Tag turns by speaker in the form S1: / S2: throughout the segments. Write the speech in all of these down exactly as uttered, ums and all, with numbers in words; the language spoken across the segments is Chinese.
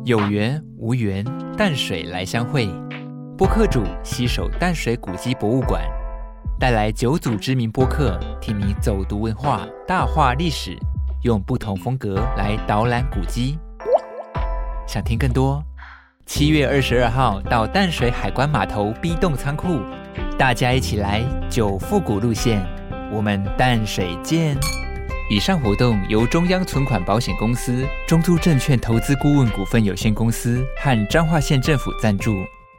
S1: 有缘无缘，淡水来相会。播客主携手淡水古迹博物馆，带来九组知名播客，替你走读文化，大话历史，用不同风格来导览古迹。想听更多？七月二十二号到淡水海关码头 B 栋仓库，大家一起来九复古路线，我们淡水见。以上活动由中央存款保险公司、中租证券投资顾问股份有限公司和彰化县政府赞助。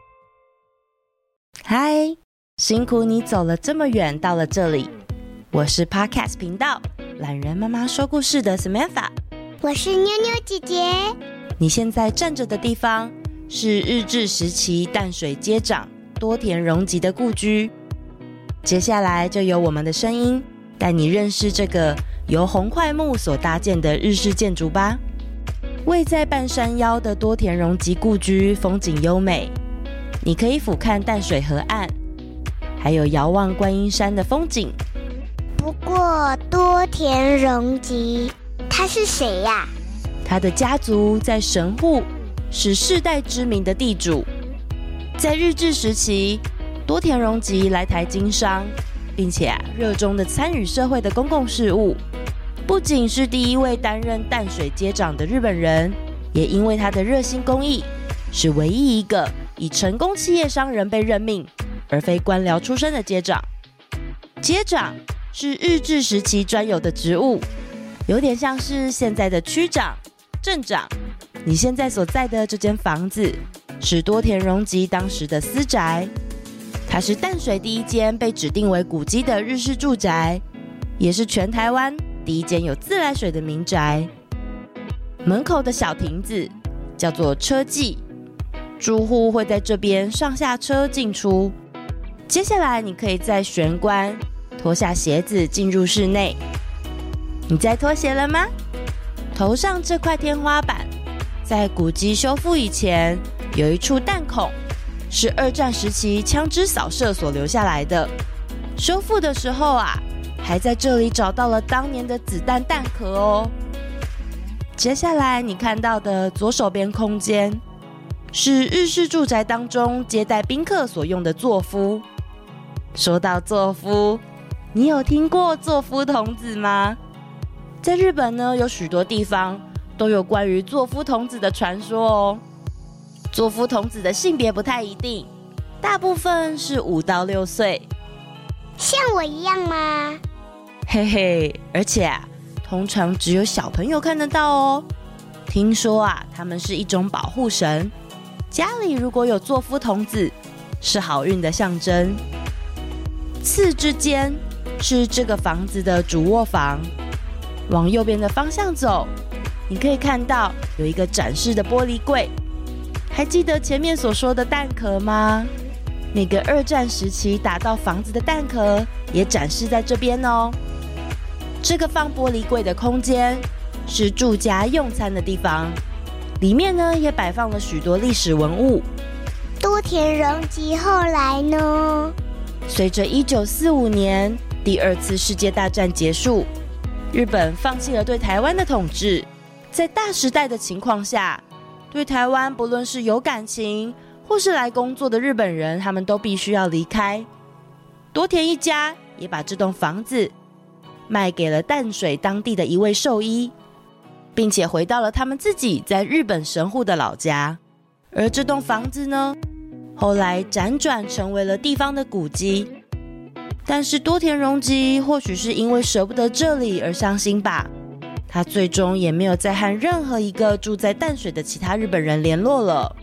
S2: 嗨，辛苦你走了这么远到了这里，我是 Podcast 频道懒人妈妈说故事的 Samantha，
S3: 我是妞妞姐姐。
S2: 你现在站着的地方是日治时期淡水街长多田荣吉的故居，接下来就由我们的声音带你认识这个由红块木所搭建的日式建筑吧。位在半山腰的多田荣吉故居风景优美，你可以俯瞰淡水河岸，还有遥望观音山的风景。
S3: 不过多田荣吉他是谁呀？
S2: 他的家族在神户是世代知名的地主。在日治时期，多田荣吉来台经商，并且啊热衷的参与社会的公共事务。不仅是第一位担任淡水街长的日本人，也因为他的热心公益，是唯一一个以成功企业商人被任命，而非官僚出身的街长。街长是日治时期专有的职务，有点像是现在的区长、镇长。你现在所在的这间房子是多田荣吉当时的私宅，它是淡水第一间被指定为古迹的日式住宅，也是全台湾第一间有自来水的民宅。门口的小亭子叫做车记，住户会在这边上下车进出。接下来你可以在玄关脱下鞋子进入室内。你在脱鞋了吗？头上这块天花板在古迹修复以前有一处弹孔，是二战时期枪支扫射所留下来的。修复的时候啊，还在这里找到了当年的子弹弹壳哦。接下来你看到的左手边空间是日式住宅当中接待宾客所用的座敷。说到座敷，你有听过座敷童子吗？在日本呢，有许多地方都有关于座敷童子的传说哦。座敷童子的性别不太一定，大部分是五到六岁。
S3: 像我一样吗？
S2: 嘿嘿，而且啊，通常只有小朋友看得到哦。听说啊，他们是一种保护神，家里如果有座敷童子，是好运的象征。次之间是这个房子的主卧房，往右边的方向走，你可以看到有一个展示的玻璃柜。还记得前面所说的弹壳吗？那个二战时期打到房子的弹壳也展示在这边哦。这个放玻璃柜的空间是住家用餐的地方，里面呢也摆放了许多历史文物。
S3: 多田荣吉后来呢？
S2: 随着一九四五年第二次世界大战结束，日本放弃了对台湾的统治，在大时代的情况下，对台湾不论是有感情或是来工作的日本人，他们都必须要离开。多田一家也把这栋房子卖给了淡水当地的一位兽医，并且回到了他们自己在日本神户的老家。而这栋房子呢，后来辗转成为了地方的古迹。但是多田荣吉或许是因为舍不得这里而伤心吧，他最终也没有再和任何一个住在淡水的其他日本人联络了。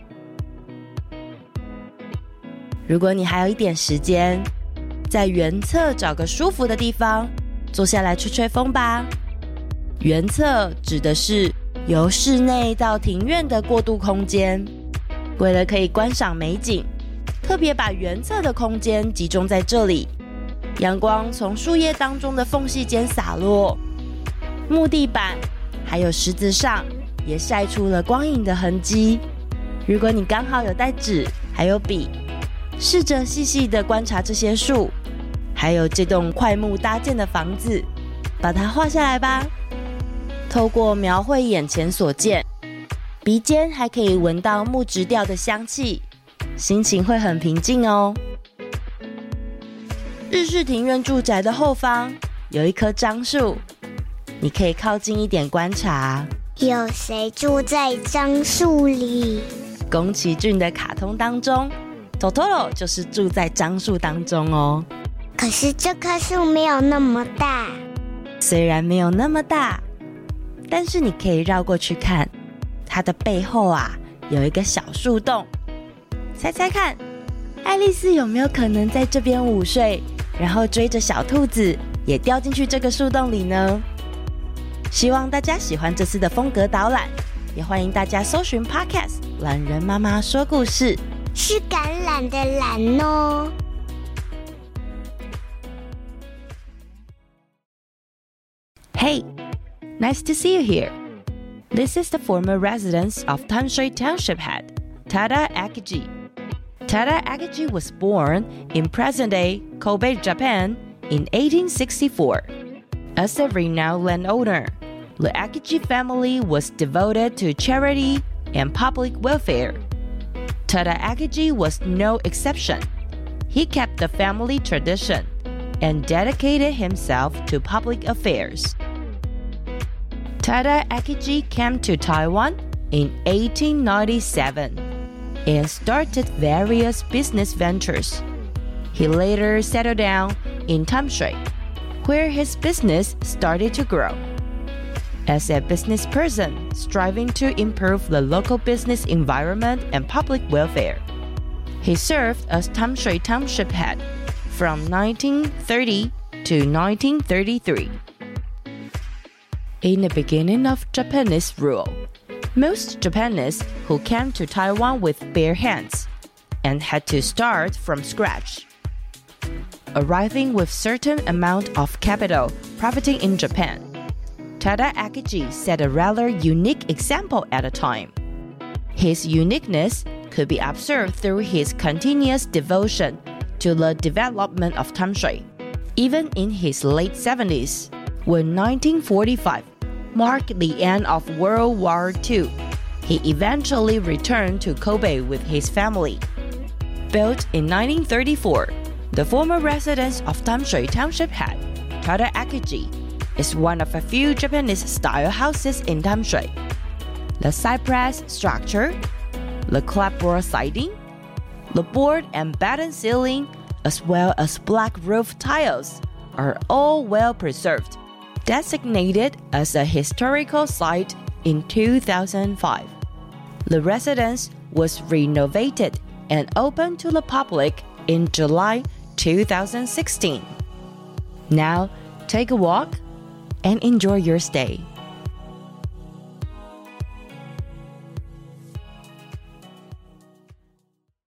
S2: 如果你还有一点时间，在原侧找个舒服的地方坐下来吹吹风吧。原侧指的是由室内到庭院的过渡空间，为了可以观赏美景，特别把原侧的空间集中在这里。阳光从树叶当中的缝隙间洒落，木地板还有石子上也晒出了光影的痕迹。如果你刚好有带纸还有笔，试着细细地观察这些树，还有这栋块木搭建的房子，把它画下来吧。透过描绘眼前所见， 鼻尖还可以闻到木质调的香气，心情会很平静哦。日式庭院住宅的后方有一棵樟树，你可以靠近一点观察。
S3: 有谁住在樟树里？
S2: 宫崎骏的卡通当中，Totoro 就是住在樟树当中哦。
S3: 可是这棵树没有那么大。
S2: 虽然没有那么大，但是你可以绕过去看，它的背后啊有一个小树洞。猜猜看，爱丽丝有没有可能在这边午睡，然后追着小兔子也掉进去这个树洞里呢？希望大家喜欢这次的风格导览，也欢迎大家搜寻 Podcast 懒人妈妈说故事，
S3: 是橄榄的榄哦。
S2: Hey, nice to see you here. This is the former residence of Tanshui Township head, Tada Akiji. Tada Akiji was born in present-day Kobe, Japan in eighteen sixty-four. As a renowned landowner, the Akiji family was devoted to charity and public welfare. Tada Akiji was no exception. He kept the family tradition and dedicated himself to public affairs. Tada Akiji came to Taiwan in eighteen ninety-seven and started various business ventures. He later settled down in Tamshui, where his business started to grow. As a business person striving to improve the local business environment and public welfare, he served as Tamshui Township head from nineteen thirty to nineteen thirty-three. In the beginning of Japanese rule, most Japanese who came to Taiwan with bare hands and had to start from scratch, arriving with certain amount of capital profiting in Japan. Tada Akiji set a rather unique example at the time. His uniqueness could be observed through his continuous devotion to the development of Tamshui. Even in his late seventies, when nineteen forty-five marked the end of World War Two, he eventually returned to Kobe with his family. Built in nineteen thirty-four, the former residence of Tamshui Township head, Tada Akiji, is one of a few Japanese-style houses in Tamshui. The cypress structure, the clapboard siding, the board and batten ceiling, as well as black roof tiles, are all well preserved. Designated as a historical site in two thousand five. The residence was renovated and opened to the public in July two thousand sixteen. Now, take a walk and enjoy your stay.